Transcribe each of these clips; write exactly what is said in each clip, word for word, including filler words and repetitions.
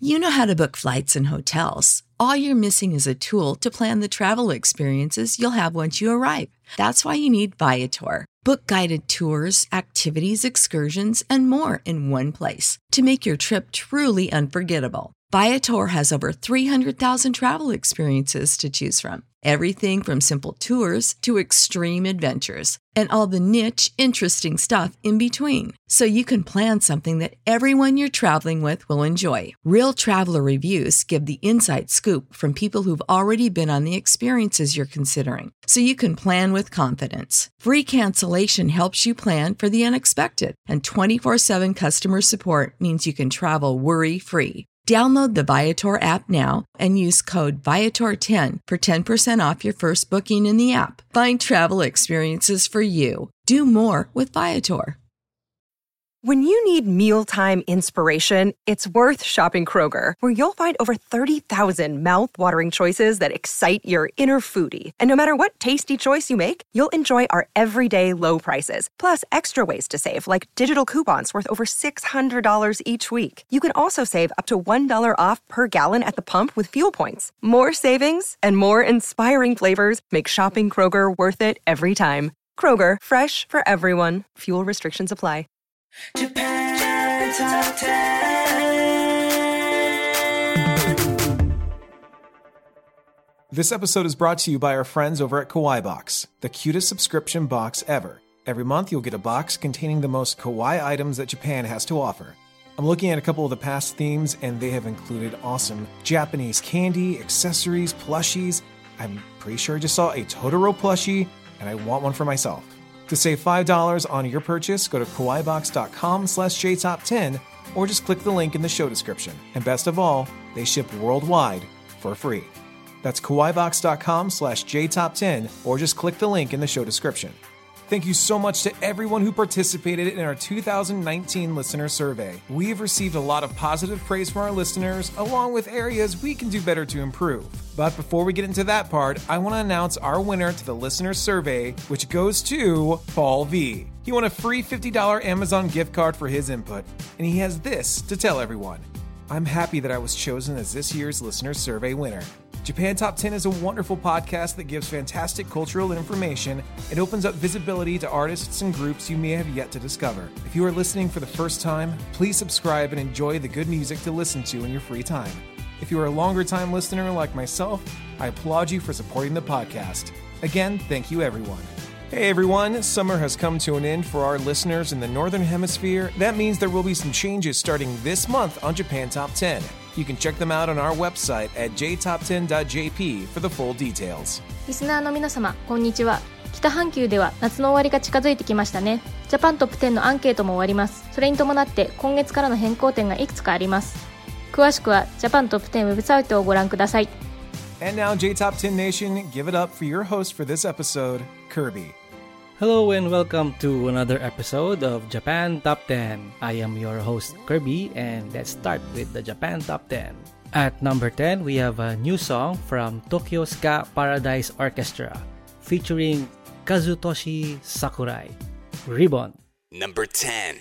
You know how to book flights and hotels. All you're missing is a tool to plan the travel experiences you'll have once you arrive. That's why you need Viator. Book guided tours, activities, excursions, and more in one place to make your trip truly unforgettable. Viator has over three hundred thousand travel experiences to choose from. Everything from simple tours to extreme adventures and all the niche, interesting stuff in between. So you can plan something that everyone you're traveling with will enjoy. Real traveler reviews give the inside scoop from people who've already been on the experiences you're considering. So you can plan with confidence. Free cancellation helps you plan for the unexpected. And twenty-four seven customer support means you can travel worry-free. Download the Viator app now and use code Viator ten for ten percent off your first booking in the app. Find travel experiences for you. Do more with Viator. When you need mealtime inspiration, it's worth shopping Kroger, where you'll find over thirty thousand mouth-watering choices that excite your inner foodie. And no matter what tasty choice you make, you'll enjoy our everyday low prices, plus extra ways to save, like digital coupons worth over six hundred dollars each week. You can also save up to one dollar off per gallon at the pump with fuel points. More savings and more inspiring flavors make shopping Kroger worth it every time. Kroger, fresh for everyone. Fuel restrictions apply. Japan Top ten. This episode is brought to you by our friends over at Kawaii Box, the cutest subscription box ever. Every month you'll get a box containing the most kawaii items that Japan has to offer. I'm looking at a couple of the past themes, and they have included awesome Japanese candy, accessories, plushies. I'm pretty sure I just saw a Totoro plushie, and I want one for myself. To save five dollars on your purchase, go to kawaiibox.com slash jtop10 or just click the link in the show description. And best of all, they ship worldwide for free. That's kawaiibox.com slash jtop10 or just click the link in the show description. Thank you so much to everyone who participated in our two thousand nineteen listener survey. We've received a lot of positive praise from our listeners, along with areas we can do better to improve. But before we get into that part, I want to announce our winner to the listener survey, which goes to Paul V. He won a free fifty dollars Amazon gift card for his input, and he has this to tell everyone. I'm happy that I was chosen as this year's listener survey winner. Japan Top ten is a wonderful podcast that gives fantastic cultural information and opens up visibility to artists and groups you may have yet to discover. If you are listening for the first time, please subscribe and enjoy the good music to listen to in your free time. If you are a longer-time listener like myself, I applaud you for supporting the podcast. Again, thank you everyone. Hey everyone, summer has come to an end for our listeners in the Northern Hemisphere. That means there will be some changes starting this month on Japan Top ten. You can check them out on our website at j top ten dot j p for the full details. リスナーの皆様、こんにちは。北半球では夏の終わりが近づいてきましたね。ジャパントップテンのアンケートも終わります。それに伴って今月からの変更点がいくつかあります。詳しくはジャパントップテンウェブサイトをご覧ください。 And now J Top ten Nation, give it up for your host for this episode, Kirby. Hello and welcome to another episode of Japan Top ten. I am your host Kirby, and let's start with the Japan Top ten. At number ten, we have a new song from Tokyo Ska Paradise Orchestra featuring Kazutoshi Sakurai, Ribbon. Number ten.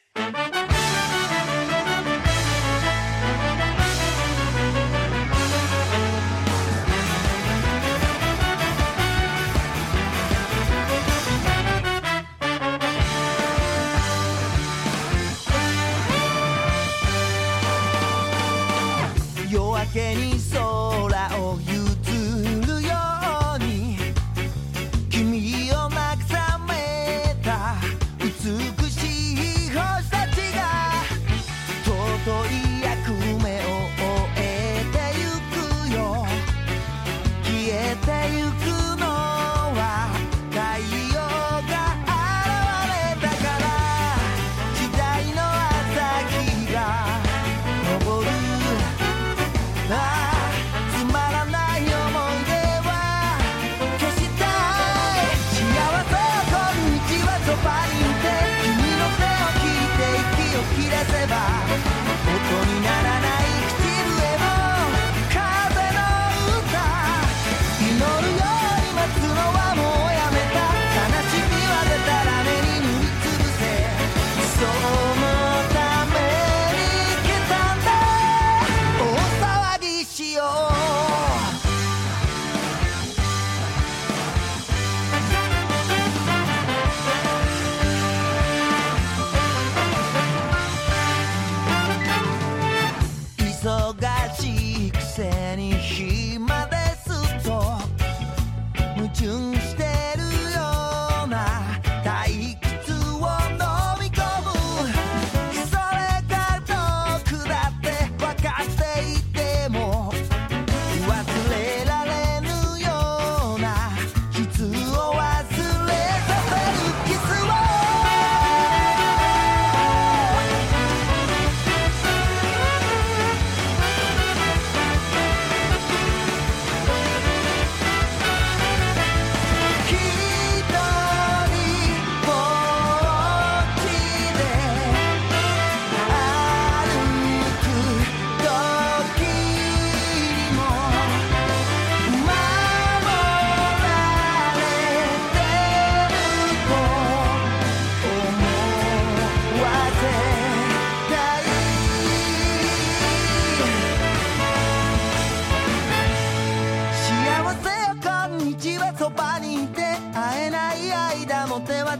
夜明けに空を譲るように君を慰めた美しい星たちが尊い役目を終えてゆくよ消えてゆくのは太陽が現れたから時代の朝日が昇るつまらない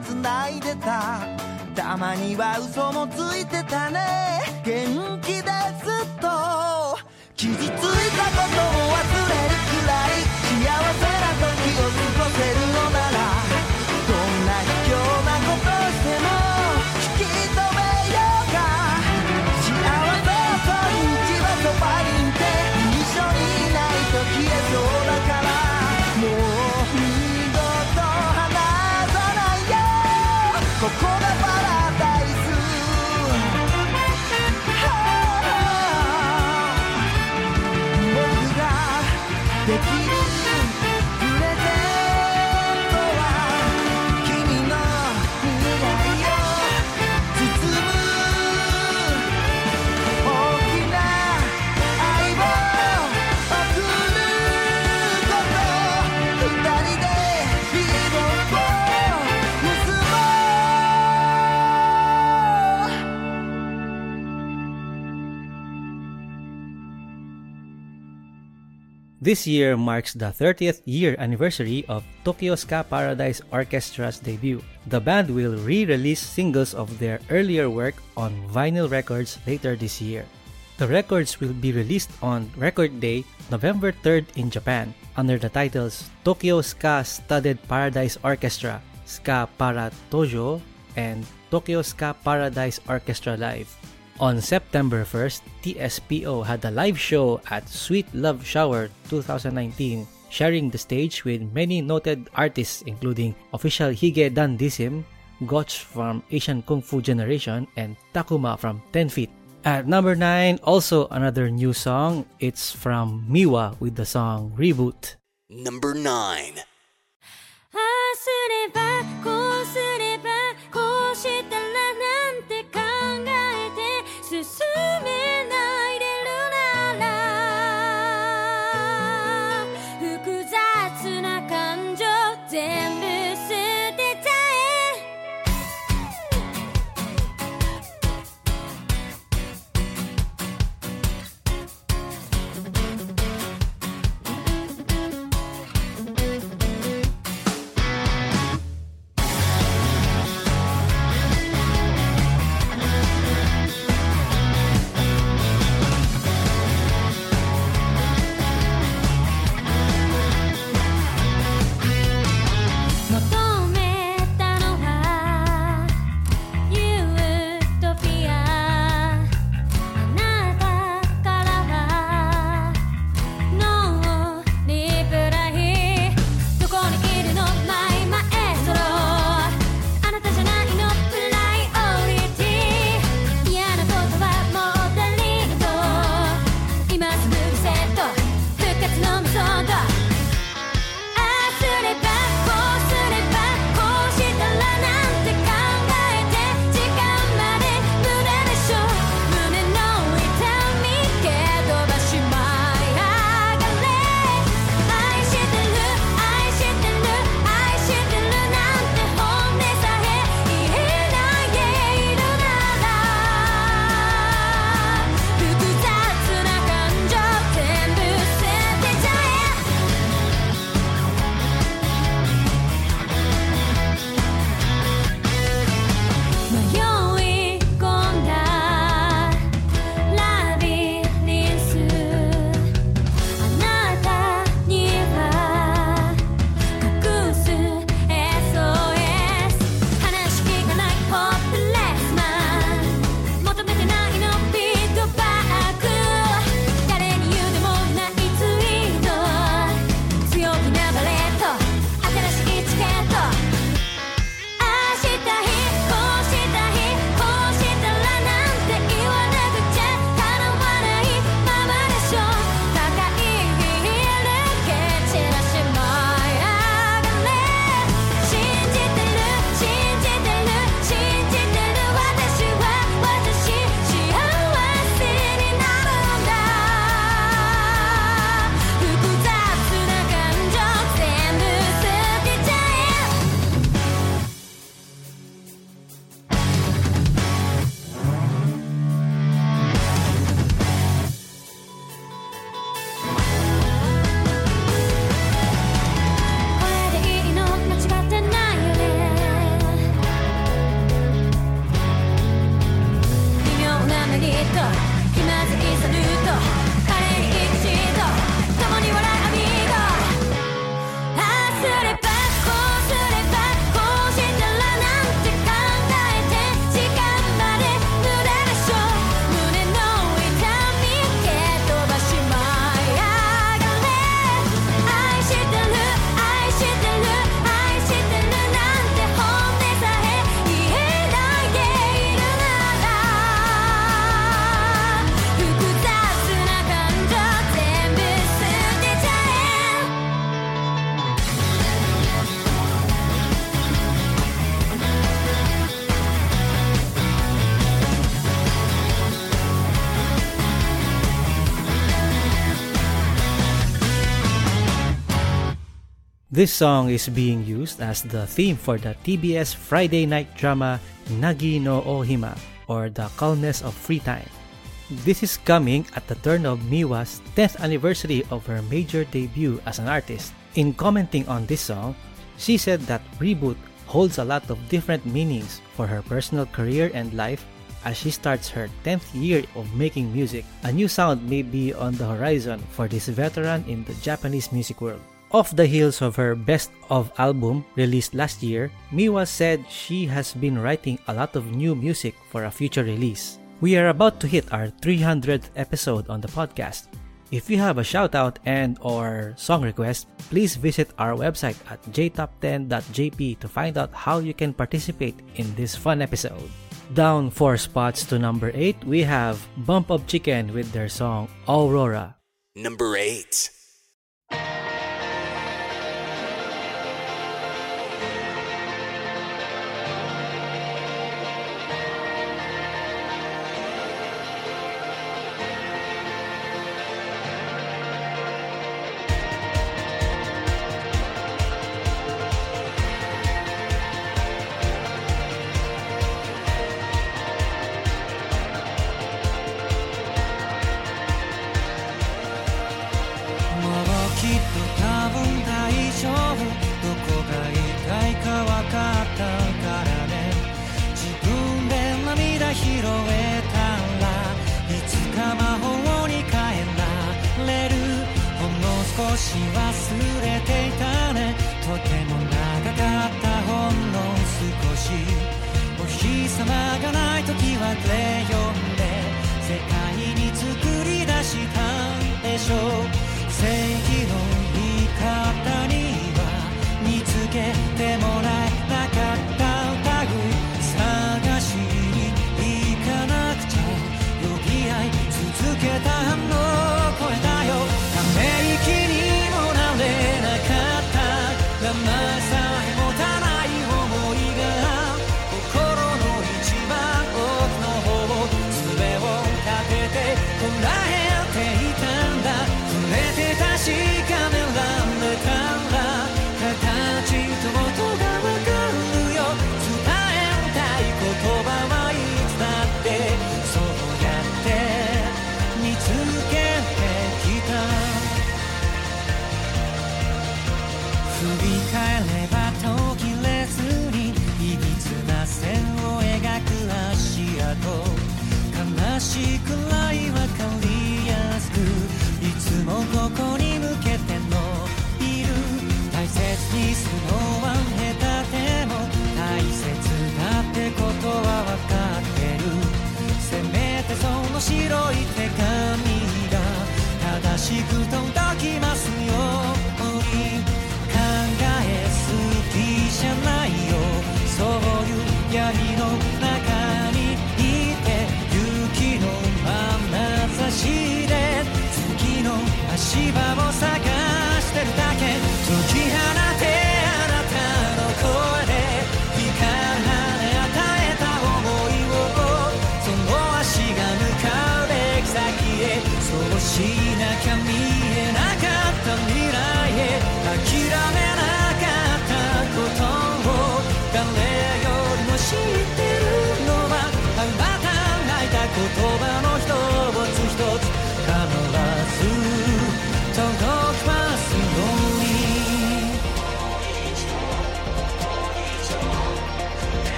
つないでたたまには嘘もついてたね元気ですと傷ついたことを忘れるくらい幸せな時を過ごせるのならどんな卑怯なことしても引き止めようか幸せはそんにちはそばにいて一緒にいないと消えそうだからもう二度と離さないよここがパラダイス僕ができるプレゼントは君の未来を包む大きな愛を送ること二人でリボンを結ぼう This year marks the thirtieth year anniversary of Tokyo Ska Paradise Orchestra's debut. The band will re-release singles of their earlier work on vinyl records later this year. The records will be released on Record Day, November third in Japan, under the titles Tokyo Ska Studded Paradise Orchestra, Ska Para Tojo, and Tokyo Ska Paradise Orchestra Live. On September first, T S P O had a live show at Sweet Love Shower twenty nineteen, sharing the stage with many noted artists including official Hige Dandism, Gotch from Asian Kung Fu Generation, and Takuma from ten feet. At number nine, also another new song. It's from Miwa with the song Reboot. Number nine. ああすればこうすればこうしたらなんて考えて進めないでるなら複雑な感情全部捨てちゃえ This song is being used as the theme for the T B S Friday night drama Nagi no Ohima, or The Calmness of Free Time. This is coming at the turn of Miwa's tenth anniversary of her major debut as an artist. In commenting on this song, she said that Reboot holds a lot of different meanings for her personal career and life as she starts her tenth year of making music. A new sound may be on the horizon for this veteran in the Japanese music world. Off the heels of her Best of album released last year, Miwa said she has been writing a lot of new music for a future release. We are about to hit our three hundredth episode on the podcast. If you have a shoutout and or song request, please visit our website at j top ten dot j p to find out how you can participate in this fun episode. Down four spots to number eight, we have Bump of Chicken with their song Aurora. Number eight.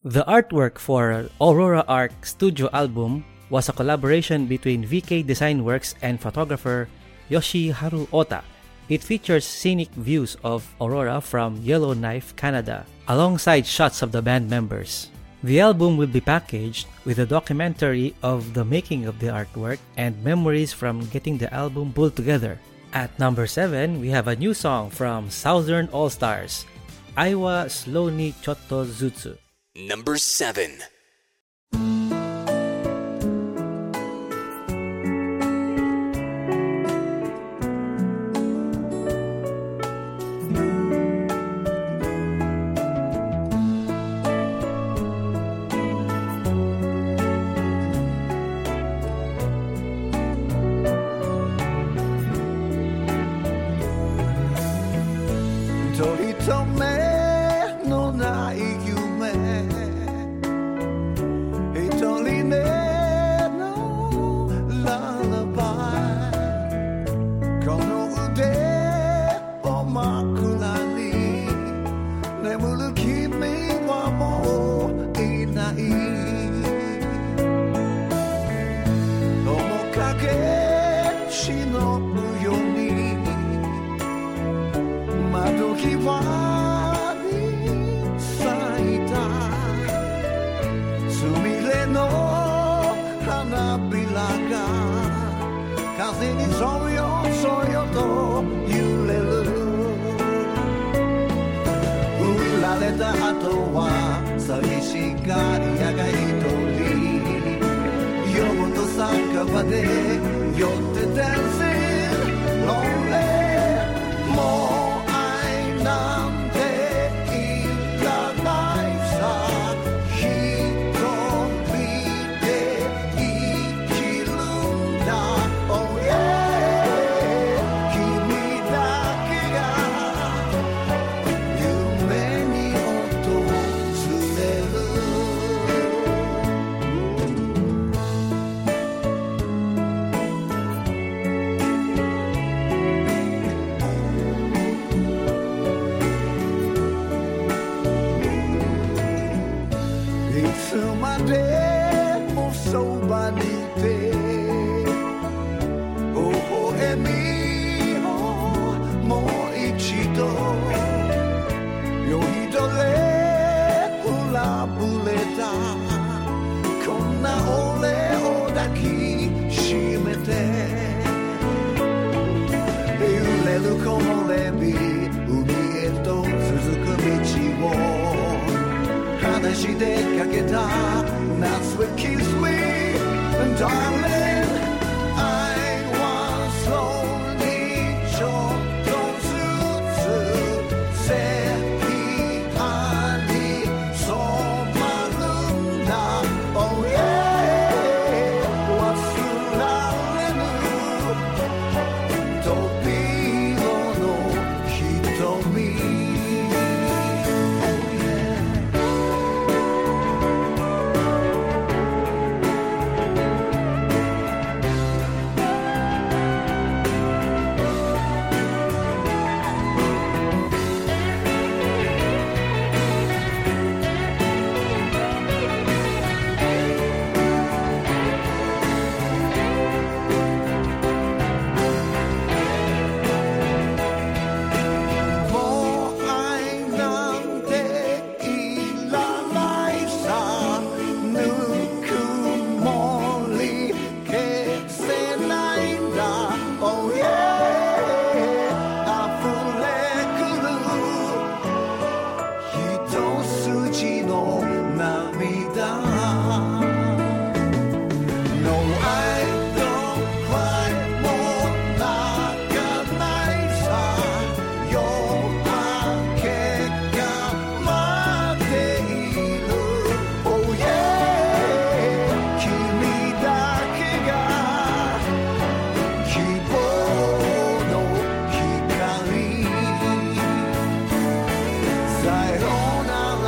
The artwork for Aurora Arc Studio album was a collaboration between V K Design Works and photographer Yoshiharu Ota. It features scenic views of Aurora from Yellowknife, Canada, alongside shots of the band members. The album will be packaged with a documentary of the making of the artwork and memories from getting the album pulled together. At number seven, we have a new song from Southern All-Stars, Aiwa Slow ni Chotto Zutsu. Number seven.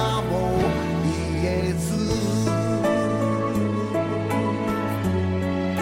「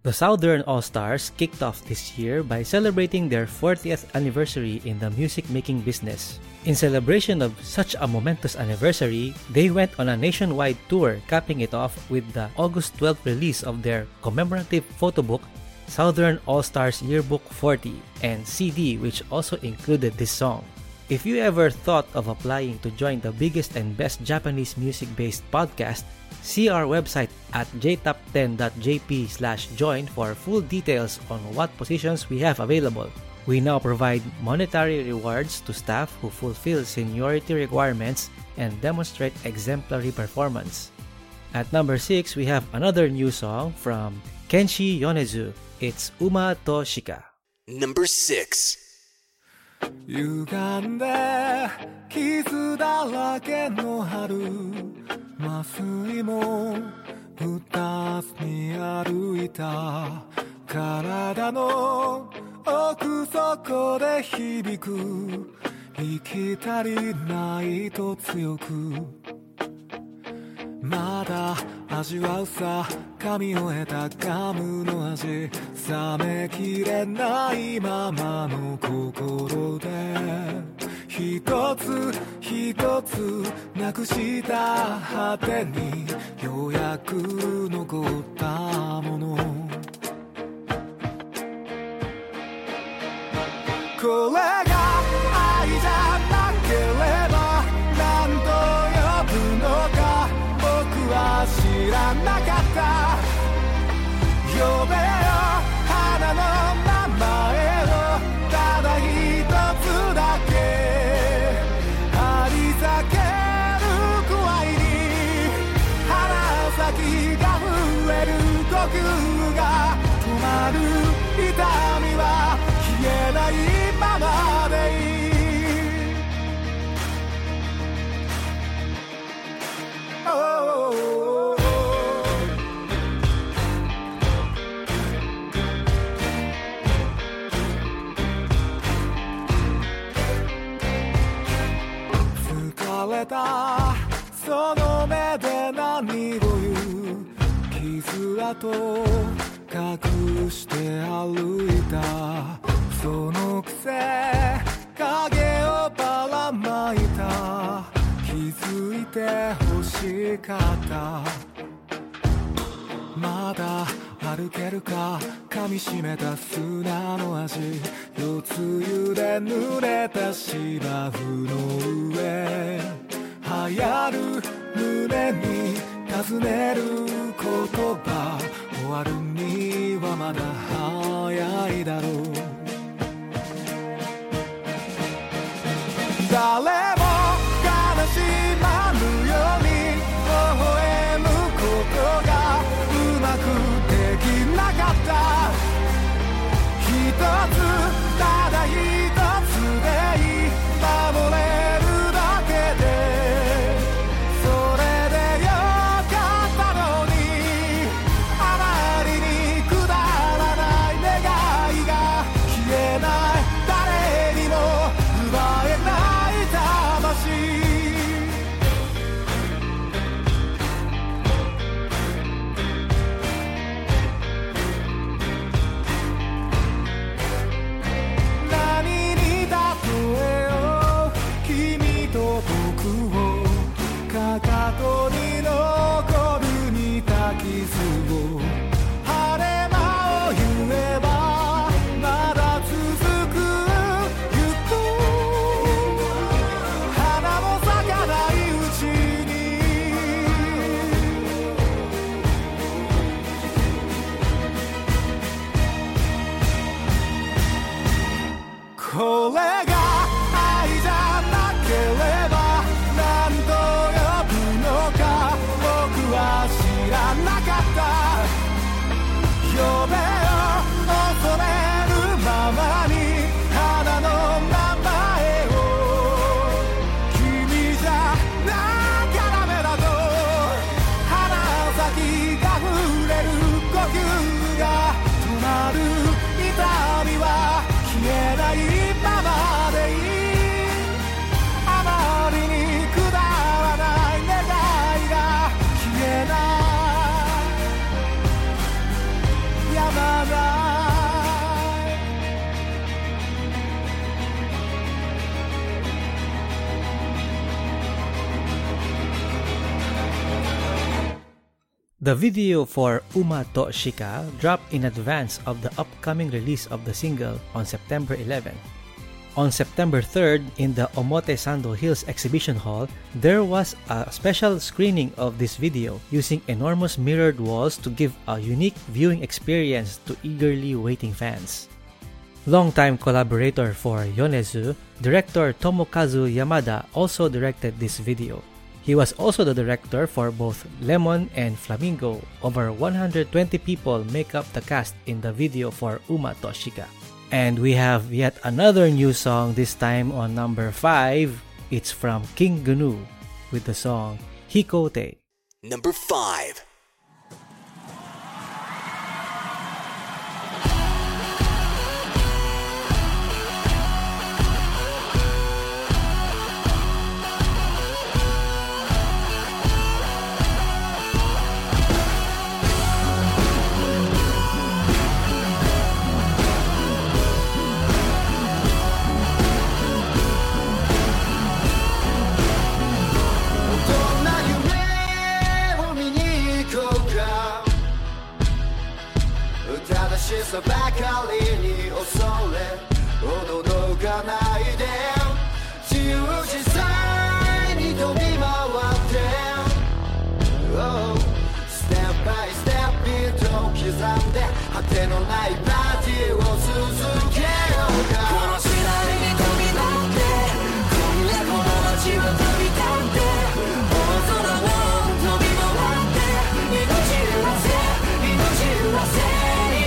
The Southern All-Stars kicked off this year by celebrating their fortieth anniversary in the music-making business. In celebration of such a momentous anniversary, they went on a nationwide tour, capping it off with the August twelfth release of their commemorative photo book, Southern All-Stars Yearbook forty, and C D, which also included this song. If you ever thought of applying to join the biggest and best Japanese music-based podcast, see our website at j top ten dot j p slash join for full details on what positions we have available. We now provide monetary rewards to staff who fulfill seniority requirements and demonstrate exemplary performance. At number six, we have another new song from Kenshi Yonezu. It's Uma to Shika. Number six. 歪んで傷だらけの春麻酔も打たずに歩いた体の奥底で響く生き足りないと強くまだ味わうさ噛み終えたガムの味冷めきれないままの心で一つ一つなくした果てにようやく残ったものこれが愛じゃなければ何と呼ぶのか僕は知らなかった呼べよ花の名前をただ一つだけ張り裂けるくらいに鼻先が増える呼吸が止まる痛みは消えないままでいい疲れたその目で何を言う傷跡隠して歩いたそのくせ影をばらまいた気づいて欲しかったまだ歩けるか噛みしめた砂の味夜露で濡れた芝生の上流行る胸に尋ねる言葉終わるにはまだ早いだろう誰も悲しまぬように微笑むことがうまくできなかった一つただ一つでいい守れるだけでそれでよかったのにあまりにくだらない願いが The video for Uma to Shika dropped in advance of the upcoming release of the single on September eleventh. On September third, in the Omotesando Hills Exhibition Hall, there was a special screening of this video using enormous mirrored walls to give a unique viewing experience to eagerly waiting fans. Longtime collaborator for Yonezu, director Tomokazu Yamada also directed this video. He was also the director for both Lemon and Flamingo. Over one hundred twenty people make up the cast in the video for Uma to Shika. And we have yet another new song, this time on number five. It's from King Gnu with the song Hikote. Number five. さばかりに恐れおののかないで自由自在に飛び回って、oh、ステップバイステップビートを刻んで果てのないパーティーを続けようか。この時代に飛び乗って今夜この街を飛び立って大空を飛び回って命揺らせ命揺らせ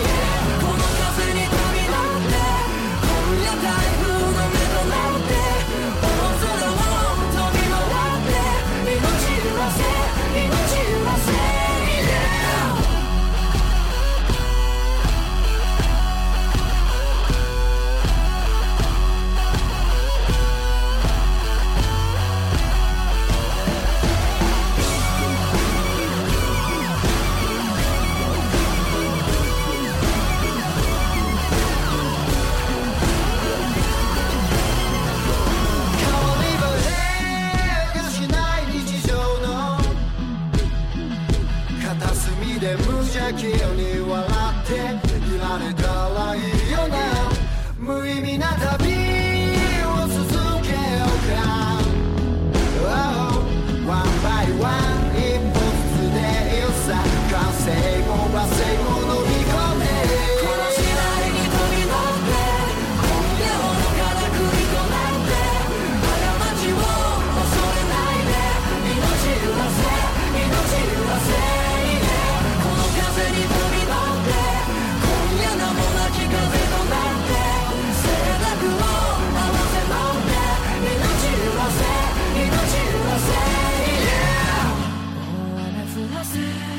急に笑っていられたらいいよな。無意味な旅を続けようか、oh、ワンバイワン一歩ずつでいいさ。完成も和成も乗り込めこの時代に飛び乗って今夜ほどから繰り込まれて過ちを恐れないで命揺らせ命揺らせ風に飛び乗って今夜名もなき風となって静寂を合わせ飲んで命揺らせ命揺らせ、yeah、 大雨降らせ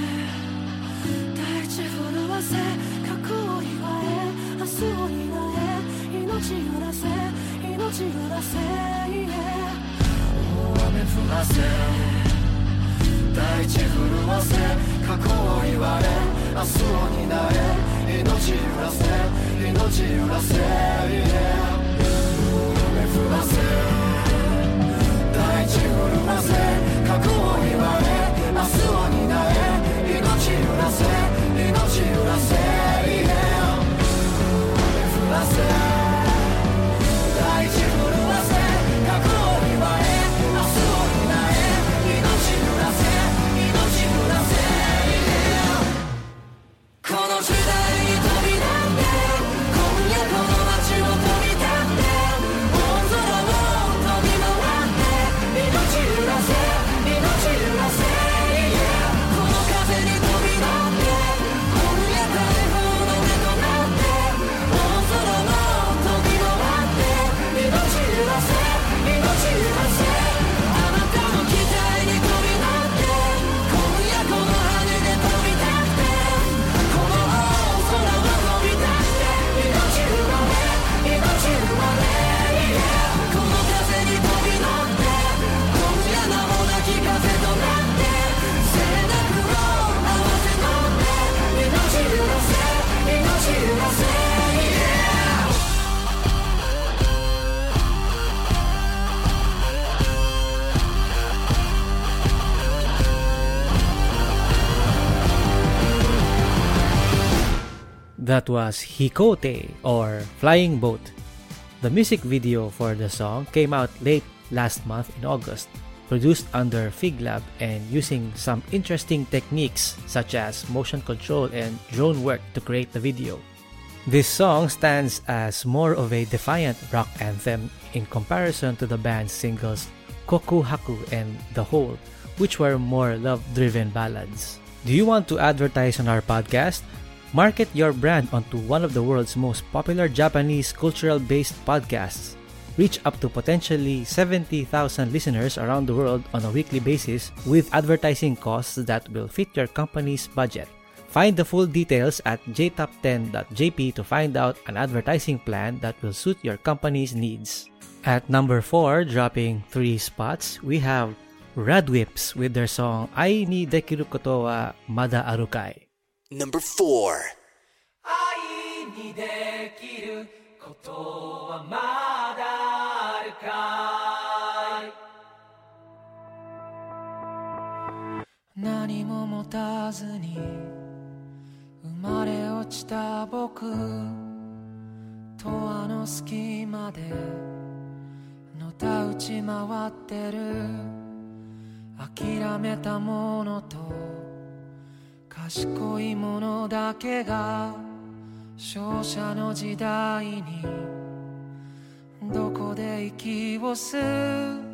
大地震わせ過去を祝え明日を担え命揺らせ命揺らせ、yeah、 大雨降らせ大地震わせ過去を言われ明日を担え命揺らせ命揺らせ、yeah、 雨降らせ大地震わせ過去を言われ明日を担え命揺らせ命揺らせ、yeah、 雨降らせ大地震わせ過去を言われ明日を担え命揺らせ命揺らせ、この時代に飛び立って今夜この街を飛び立って大空を飛び回って命揺らせ命揺らせ、yeah、 この風に飛び乗って今夜台風 That was Hikote, or Flying Boat. The music video for the song came out late last month in August, produced under Fig Lab and using some interesting techniques such as motion control and drone work to create the video. This song stands as more of a defiant rock anthem in comparison to the band's singles Koku Haku and The Hole, which were more love-driven ballads. Do you want to advertise on our podcast? Market your brand onto one of the world's most popular Japanese cultural-based podcasts. Reach up to potentially seventy thousand listeners around the world on a weekly basis with advertising costs that will fit your company's budget. Find the full details at j top ten dot j p to find out an advertising plan that will suit your company's needs. At number four, dropping three spots, we have Radwimps with their song Ai ni Dekiru Koto wa Mada Aru Kai. Number four. 愛にできることはまだあるかい何も持たずに生まれ落ちた僕とあの隙間でのたうち回ってる諦めたものと賢いものだけが勝者の時代にどこで息を吸う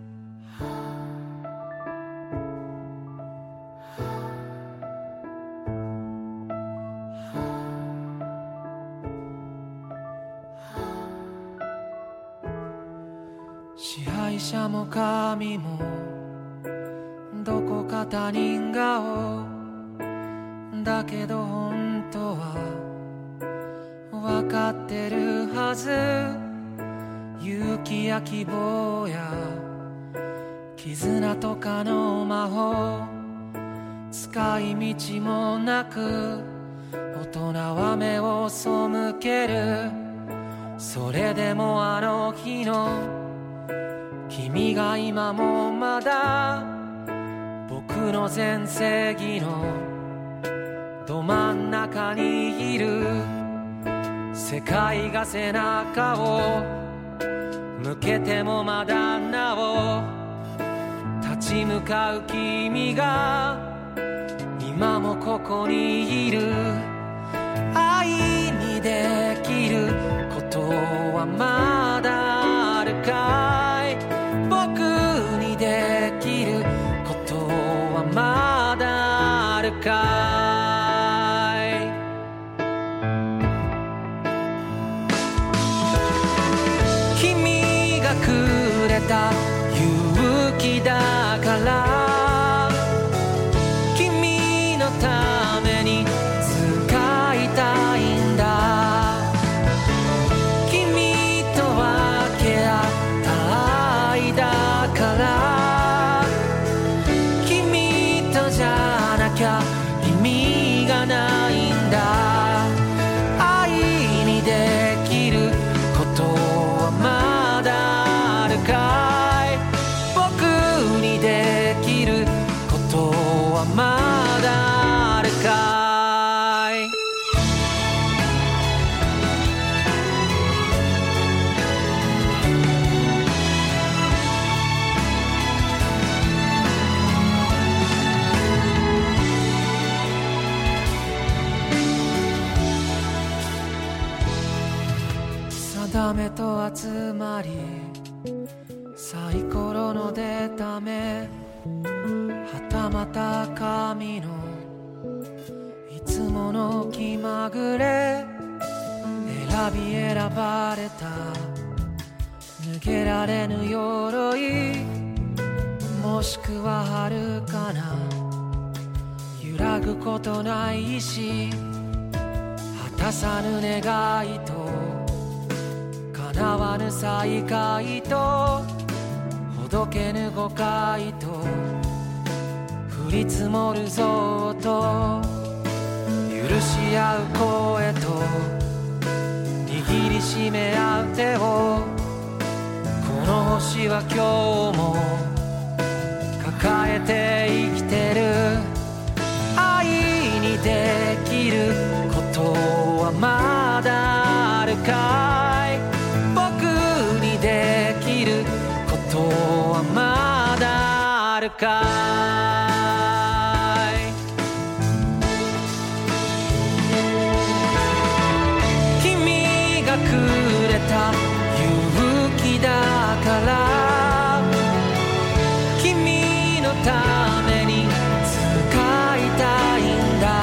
支配者も神もどこか他人顔だけど本当は分かってるはず勇気や希望や絆とかの魔法使い道もなく大人は目を背けるそれでもあの日の君が今もまだ僕の全盛期のど真ん中にいる世界が背中を向けてもまだなお立ち向かう君が今もここにいる愛にできることはまだあるかい僕にできることはまだあるかい勇気だから君のために使いたいんだ君と分け合った愛だから君とじゃなきゃ意味がないんだ愛にできることはまだ僕にできることはまだあるかい定めと集まりサイコロの出た目はたまた神のいつもの気まぐれ選び選ばれた脱げられぬ鎧もしくは遥かな揺らぐことない意志果たさぬ願いと叶わぬ再会とほどけぬ誤解と降り積もるぞと許し合う声と握りしめ合う手をこの星は今日も抱えて生きてる愛にできることはまだあるかい僕にできることはまだあるかい君がくれた勇気だから君のために使いたいんだ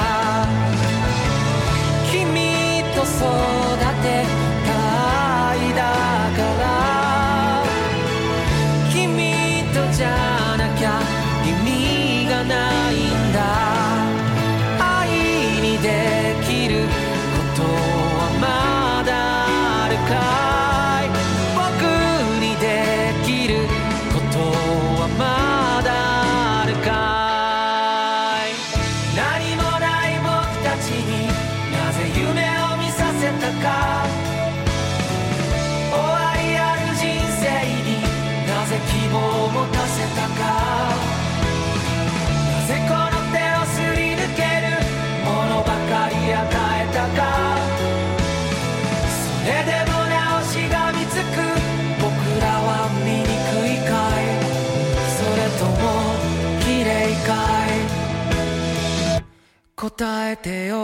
君と育てたいだから君とじゃなきゃ意味がないんだ愛にできることはまだあるかい僕にできることはまだあるかい何もない僕たちになぜ夢を見させたか終わりある人生になぜ希望を持たせたかなぜこの手をすり抜けるものばかり与えたかそれでもなおしがみつく僕らは醜いかいそれとも綺麗かい答えてよ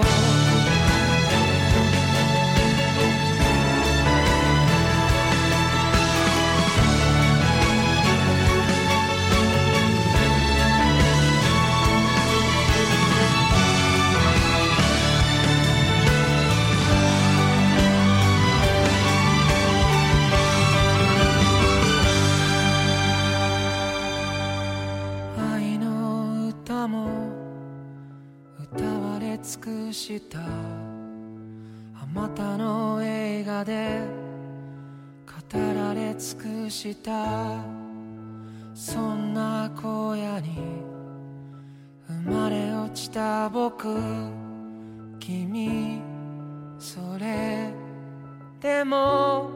愛の歌も歌われ尽くしたあまたの映画で語られ尽くしたそんな荒野に生まれ落ちた僕君それでも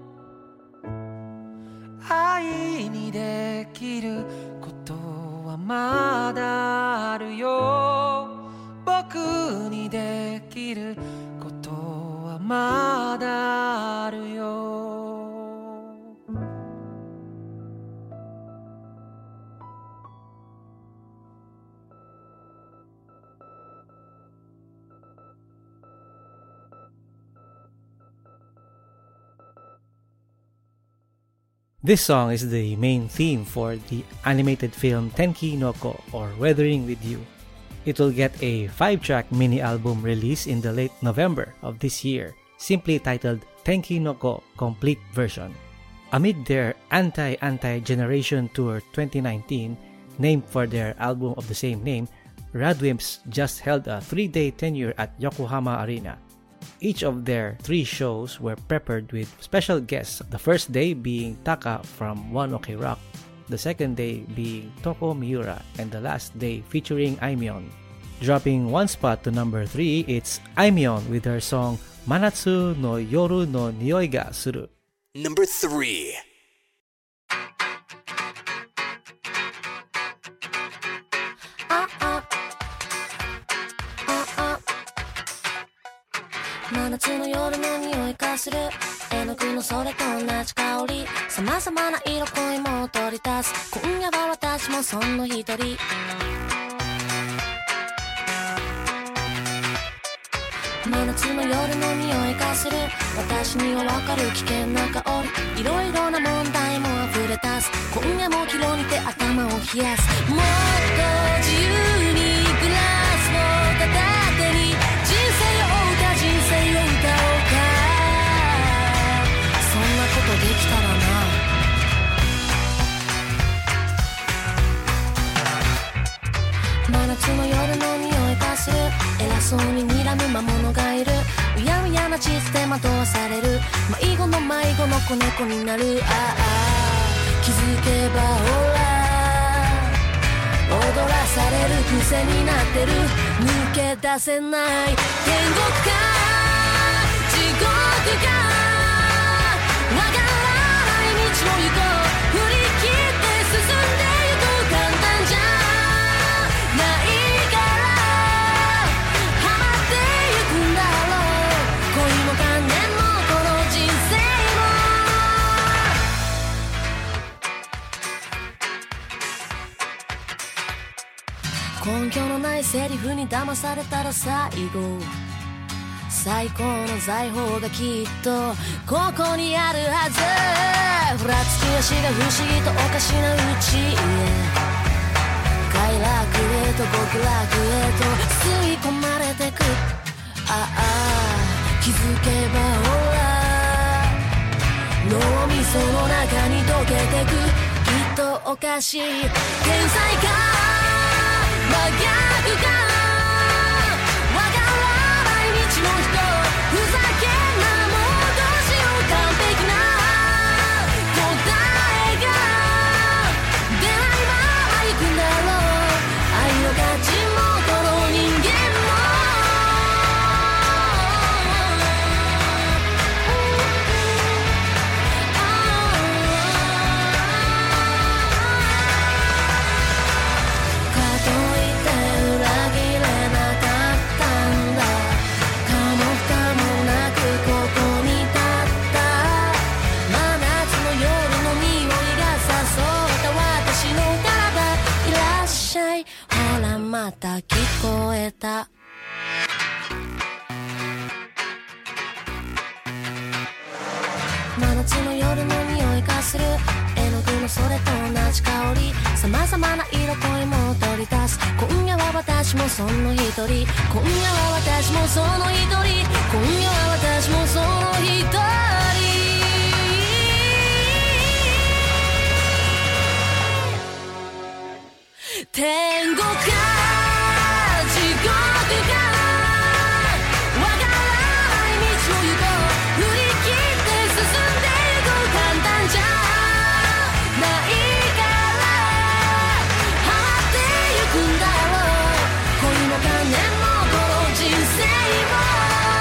愛にできることはまだあるよ僕にできることはまだあるよ This song is the main theme for the animated film Tenki no Ko or Weathering with You. It will get a five-track mini-album release in the late November of this year, simply titled Tenki no Ko Complete Version. Amid their Anti-Anti-Generation Tour twenty nineteen, named for their album of the same name, Radwimps just held a three-day tenure at Yokohama Arena. Each of their three shows were peppered with special guests, the first day being Taka from One Ok Rock, the second day being Toko Miura, and the last day featuring Aimyon. Dropping one spot to number three, it's Aimyon with her song Manatsu no Yoru no Nioi ga Suru. Number three. 真夏の夜の匂いがする絵の具のそれと同じ香り様々な色恋も取り出す今夜は私もその一人真夏の夜の匂いがする私にはわかる危険な香りいろいろな問題も溢れ出す今夜も気をにて頭を冷やすもっと自由にグラスの片手に人生を歌人生を歌おうかそんなことできたらな真夏の夜の匂いがする偉そうに睨む魔物がいるうやうやな地図で惑わされる迷子の迷子の子猫になるああ気づけばほら踊らされる癖になってる抜け出せない天国か地獄かわからない道を行こう振り切って進んでゆく簡単じゃないからハマってゆくんだろうこセリフに騙されたら最後最高の財宝がきっとここにあるはず。ふらつき足が不思議とおかしなうちへ快楽へと極楽へと吸い込まれてく。ああ気づけばほら脳みその中に溶けてく。きっとおかしい天才か真逆かの人ふざけんなもうどうしよう完璧な答えが出ないまま行くんだろう。愛の価値もこの人間もかといって裏切れなかったんだ。また聞こえた。真夏の夜の匂いがする絵の具のそれと同じ香り。様々な色恋も取り出す。今夜は私もその一人。今夜は私もその一人。今夜は私もその一人。天国か地獄かわからない道を行こう。振り切って進んでいこう。簡単じゃないからハマってゆくんだろう。恋も金もこの人生も。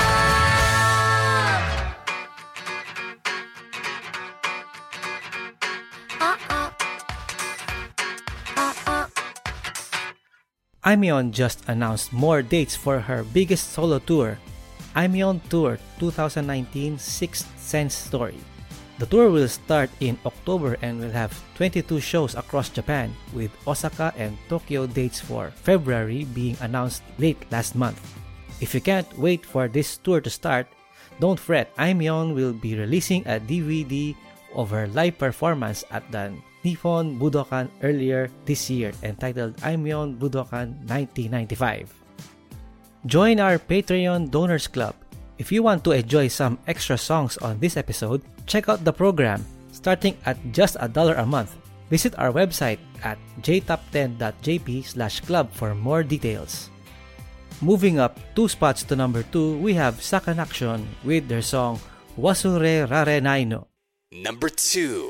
Aimyon just announced more dates for her biggest solo tour, Aimyon Tour twenty nineteen Sixth Sense Story. The tour will start in October and will have twenty-two shows across Japan, with Osaka and Tokyo dates for February being announced late last month. If you can't wait for this tour to start, don't fret, Aimyon will be releasing a D V D of her live performance at the Nippon Budokan earlier this year entitled Aimyon Budokan nineteen ninety-five. Join our Patreon Donors Club. If you want to enjoy some extra songs on this episode, check out the program starting at just a dollar a month. Visit our website at j top ten dot j p slash club for more details. Moving up two spots to number two, we have Sakanaction with their song Wasure Rarenai no. Number two.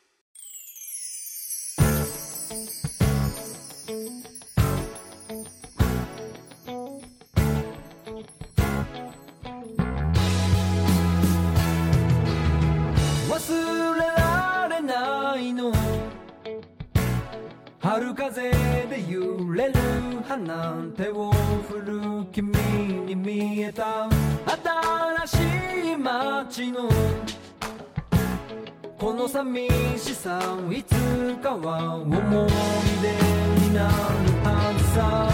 春風で揺れる花手を振る君に見えた新しい街のこの寂しさいつかは思い出になるはずさ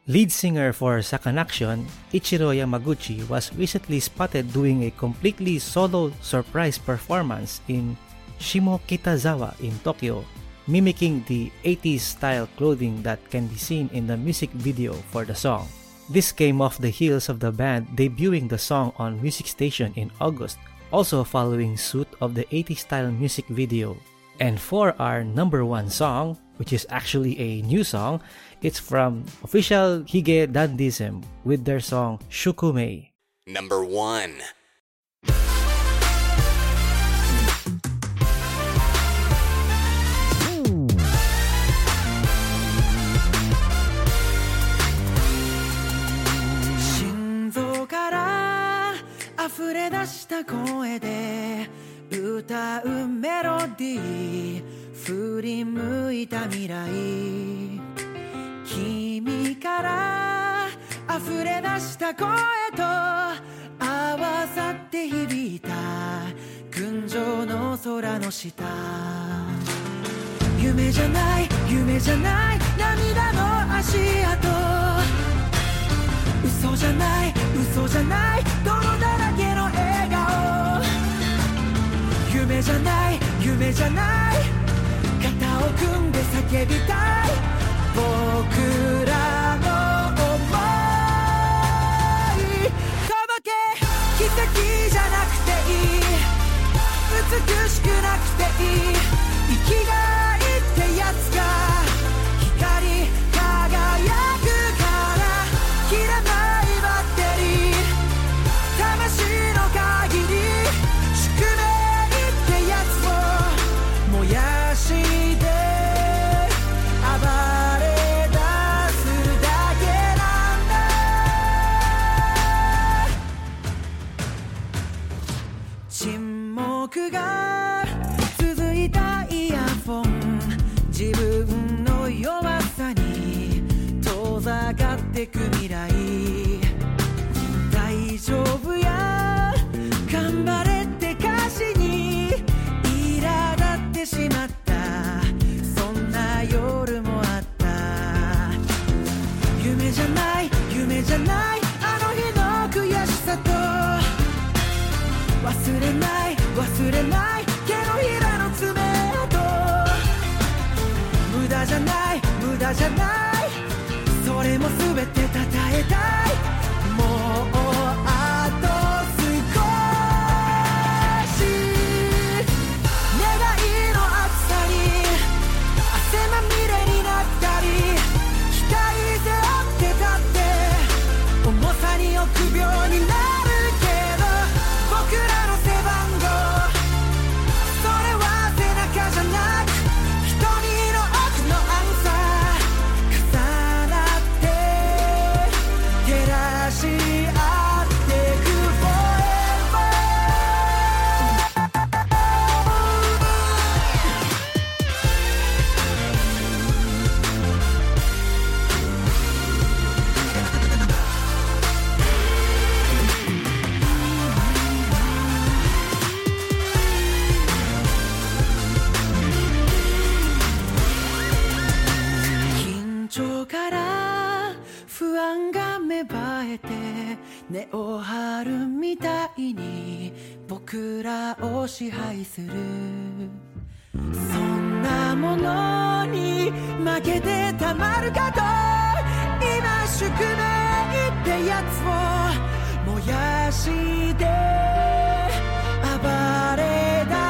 Lead singer for Sakanaction, Ichiro Yamaguchi, was recently spotted doing a completely solo surprise performance in Shimokitazawa in Tokyo, mimicking the eighties style clothing that can be seen in the music video for the song. This came off the heels of the band debuting the song on Music Station in August, also following suit of the eighties style music video. And for our number one song, which is actually a new song, it's from official Hige Dandism with their song Shukumei. Number one. 溢れ出した声で歌うメロディー、振り向いた未来、君から溢れ出した声と合わさって響いた群青の空の下、夢じゃない夢じゃない涙の足跡、嘘じゃない嘘じゃない泥だらけの笑顔、夢じゃない夢じゃない肩を組んで叫びたい僕らの想い、届け奇跡じゃなくていい、美しくなくていい、生きがいってやつが光り輝くから切らないバッテリー、魂の限り宿命ってやつを燃やして暴れ出すだけなんだ。沈黙が続いたイヤフォン、自分の弱さに遠ざかってく未来、大丈夫や頑張れって歌詞に苛立ってしまった、そんな夜もあった。夢じゃない夢じゃないあの日の悔しさと、忘れない忘れない手のひらの爪痕、無駄じゃない無駄じゃないそれも全てたたえたい、もうあと少し、願いの厚さに汗まみれになったり、期待背負ってたって重さに臆病になるけど、僕らの背番号それは背中じゃなく瞳の奥のアンサー、重なって照らし合ってく forever。 緊張から不安が芽生えて根を張るみたいに僕らを支配する、そんなものに負けてたまるかと、今宿命ってやつを燃やして暴れ出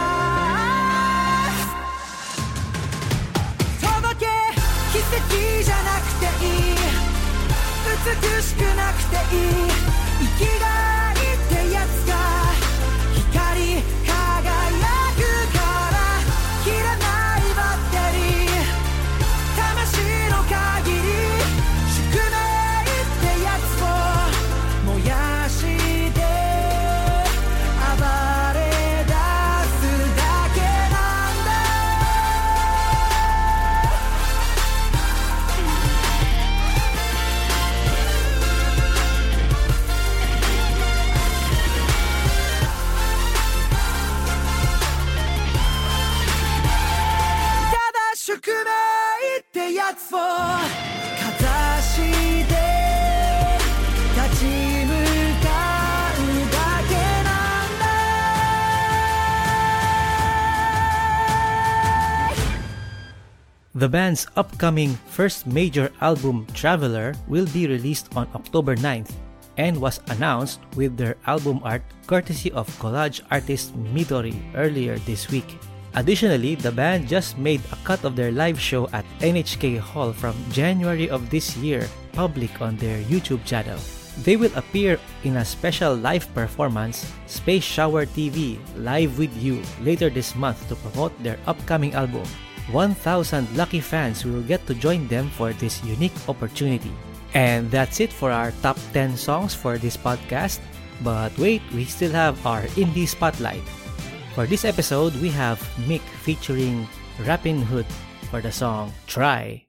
す、届け奇跡じゃなくていい、美しくなくていい、生きがいってやつが光り輝くから切らないバッテリー、魂の限り宿命ってやつを燃やして暴 The band's upcoming first major album, Traveler, will be released on October ninth and was announced with their album art courtesy of collage artist Midori earlier this week. Additionally, the band just made a cut of their live show at N H K Hall from January of this year public on their YouTube channel. They will appear in a special live performance, Space Shower T V Live With You, later this month to promote their upcoming album. one thousand lucky fans will get to join them for this unique opportunity. And that's it for our top ten songs for this podcast. But wait, we still have our Indie Spotlight. For this episode, we have Mick featuring Rappin' Hood for the song Try.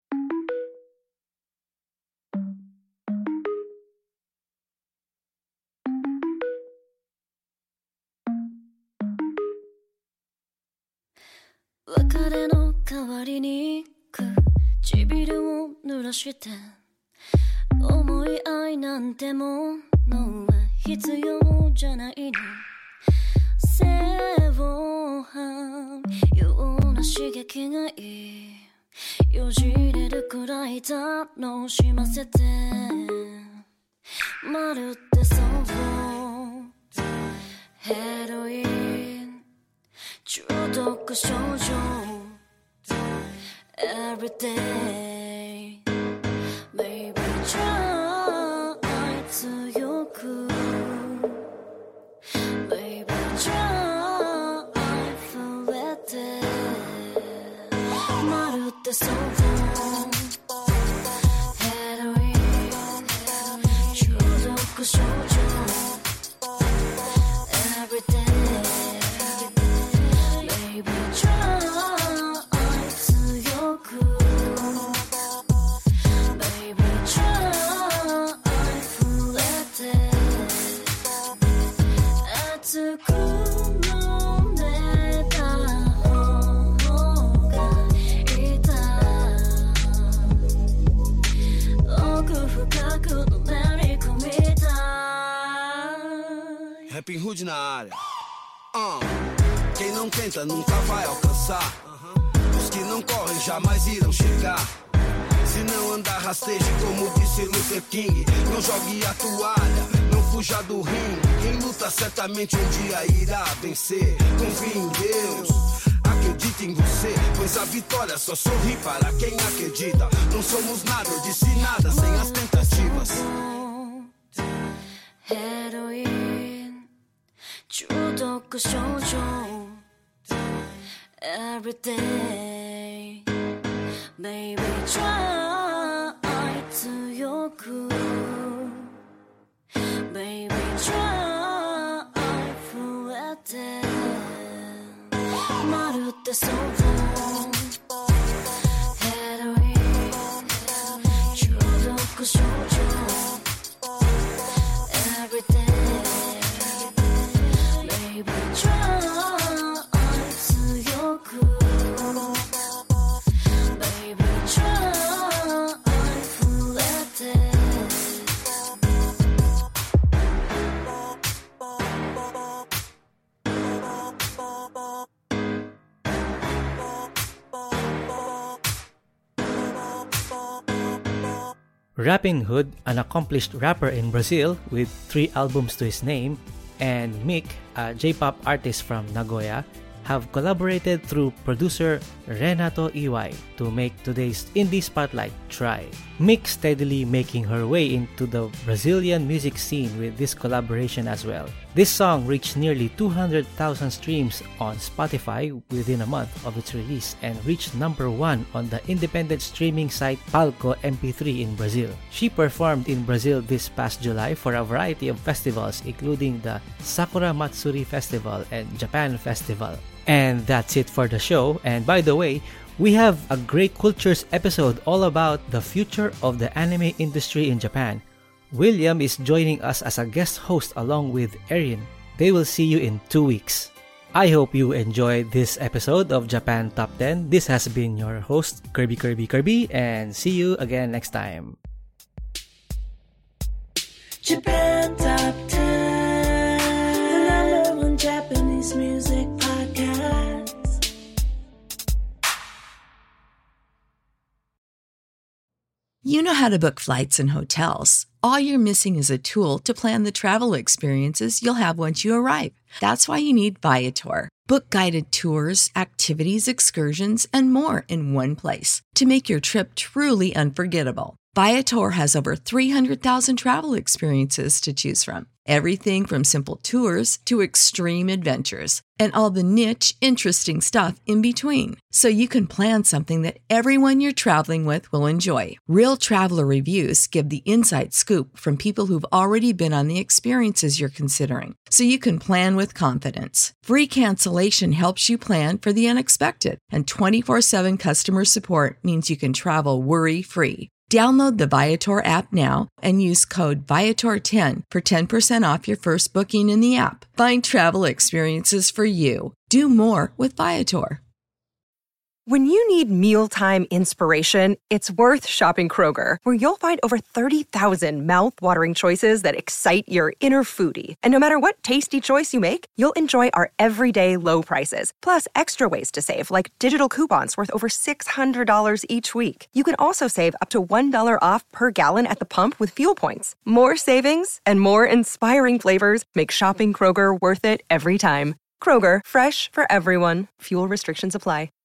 別れの代わりに唇を濡らして思い合いなんてものは必要じゃないの正反ような刺激がいいよじれるくらい楽しませてまるってそうヘロイン中毒症状 Every day Baby try 強く Baby try 触れてまるってそうヘロイン中毒症状 Every day Rappin' Hood na área. uh. Quem não tenta nunca vai alcançar. uh-huh. Os que não correm jamais irão chegar. Se não andar rasteje como disse Luther King. Não jogue a toalha, não fuja do ringue. Quem luta certamente um dia irá vencer. Confie em Deus, acredite em você, pois a vitória só sorri para quem acredita. Não somos nada, eu disse nada sem as tentativas. Heroin, 中毒症状 Every day Baby try 強く Baby try 増えてまるってそうヘロイン中毒症状 Every day Baby try 強く Baby try 増えて Rappin' Hood, an accomplished rapper in Brazil with three albums to his name, and Mick, a J-pop artist from Nagoya, have collaborated through producer Renato Iwai to make today's Indie Spotlight Try. Mick steadily making her way into the Brazilian music scene with this collaboration as well. This song reached nearly two hundred thousand streams on Spotify within a month of its release and reached number one on the independent streaming site Palco M P three in Brazil. She performed in Brazil this past July for a variety of festivals including the Sakura Matsuri Festival and Japan Festival. And that's it for the show. And by the way, we have a Great Cultures episode all about the future of the anime industry in Japan. William is joining us as a guest host along with Erin. They will see you in two weeks. I hope you enjoyed this episode of Japan Top ten. This has been your host, Kirby Kirby Kirby, and see you again next time. Japan Top ten, the number one Japanese music podcast. You know how to book flights and hotels. All you're missing is a tool to plan the travel experiences you'll have once you arrive. That's why you need Viator. Book guided tours, activities, excursions, and more in one place to make your trip truly unforgettable. Viator has over three hundred thousand travel experiences to choose from. Everything from simple tours to extreme adventures and all the niche, interesting stuff in between. So you can plan something that everyone you're traveling with will enjoy. Real traveler reviews give the inside scoop from people who've already been on the experiences you're considering. So you can plan with confidence. Free cancellation helps you plan for the unexpected. And twenty-four seven customer support means you can travel worry-free. Download the Viator app now and use code Viator ten for ten percent off your first booking in the app. Find travel experiences for you. Do more with Viator. When you need mealtime inspiration, it's worth shopping Kroger, where you'll find over thirty thousand mouth-watering choices that excite your inner foodie. And no matter what tasty choice you make, you'll enjoy our everyday low prices, plus extra ways to save, like digital coupons worth over six hundred dollars each week. You can also save up to one dollar off per gallon at the pump with fuel points. More savings and more inspiring flavors make shopping Kroger worth it every time. Kroger, fresh for everyone. Fuel restrictions apply.